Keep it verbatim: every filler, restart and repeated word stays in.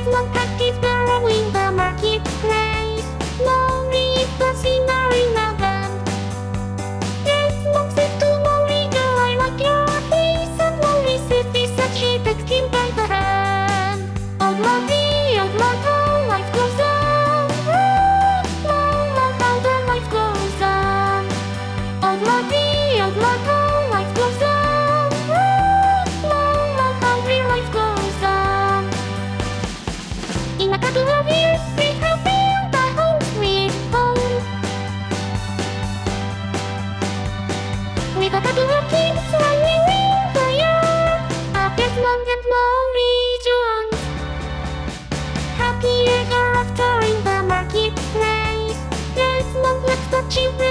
Desmond Pack is borrowing the marketplace. Mori is the singer in a band. Desmond said to Mori, girl, I like your face. And Mori said this as she takes him by the hand. Old lady, old love, how life goes on. Ooh, love, love, how the life goes on. Old lady, old love, how life goes on. Ooh, love, love, how real life goes on. In a couple of years, we have built a home sweet home. With a couple of kids running in the yard. A Desmond and Mori Jones. Happy ever after in the marketplace. Desmond lets the children